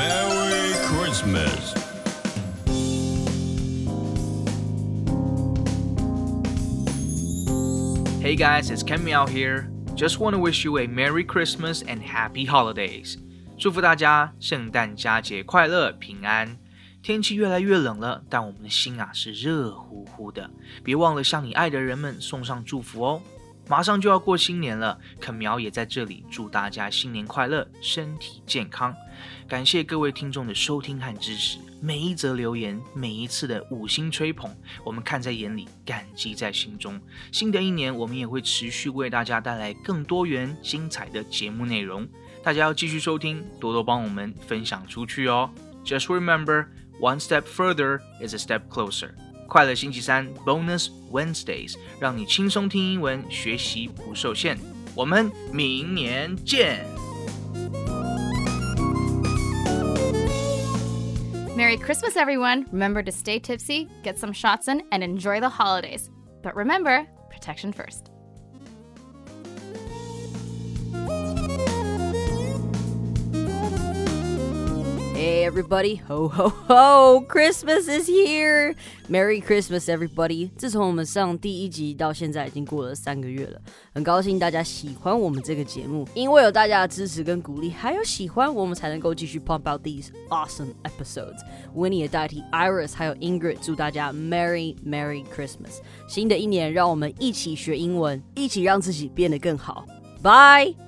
Merry Christmas. Hey guys, it's Ken Miao here. Just want to wish you a Merry Christmas and Happy Holidays. 祝福大家圣诞佳节快乐平安。天气越来越冷了，但我们的心是热乎乎的。别忘了向你爱的人们送上祝福哦。马上就要过新年了，肯苗也在这里祝大家新年快乐，身体健康。感谢各位听众的收听和支持，每一则留言，每一次的5星吹捧，我们看在眼里，感激在心中。新的一年，我们也会持续为大家带来更多元精彩的节目内容，大家要继续收听，多多帮我们分享出去哦。Just remember, one step further is a step closer. 快乐星期三 Bonus Wednesdays 让你轻松听英文，学习不受限。我们明年见。 Merry Christmas, everyone. Remember to stay tipsy, get some shots in, and enjoy the holidays. But remember, protection first. Hey everybody, ho ho ho! Christmas is here! Merry Christmas, everybody! 自从我们上第1集到现在已经过了3个月了，很高兴大家喜欢我们这个节目，因为有大家的支持跟鼓励，还有喜欢我们才能够继续 pump out these awesome episodes. Winnie 也代替 Iris 还有 Ingrid 祝大家 Merry Christmas! 新的一年，让我们一起学英文，一起让自己变得更好。Bye!